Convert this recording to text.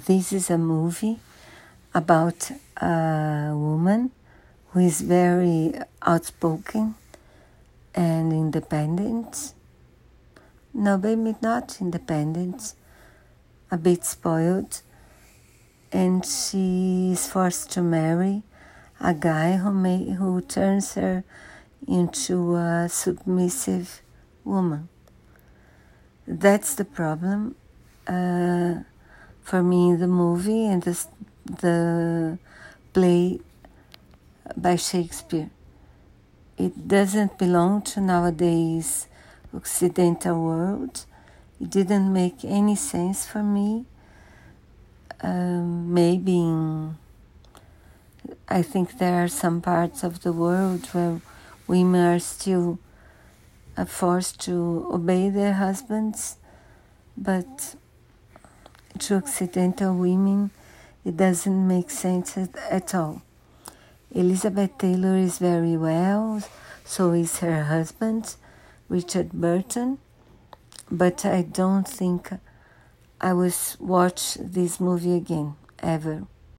this is a movie about a woman who is very outspoken and independent. No, maybe not independent, a bit spoiled. And she is forced to marry a guy who turns her into a submissive woman. That's the problem for me in the movie and the play by Shakespeare. It doesn't belong to nowadays Occidental world. It didn't make any sense for me. I think there are some parts of the world where women are still forced to obey their husbands, but to Occidental women, it doesn't make sense at all. Elizabeth Taylor is very well, so is her husband, Richard Burton, but I don't think I will watch this movie again, ever.